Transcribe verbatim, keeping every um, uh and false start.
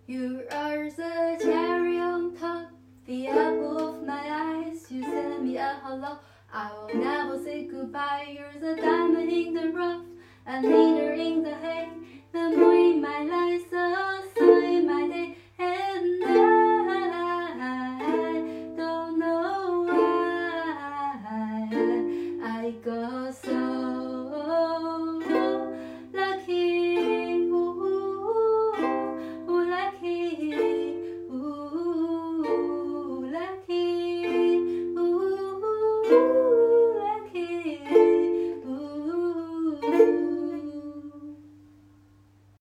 You are the cherry on top, the apple of my eyes. You send me a hello, I will never say goodbye. You're the diamond in the rough, a leader in the hay, the moon in my life. So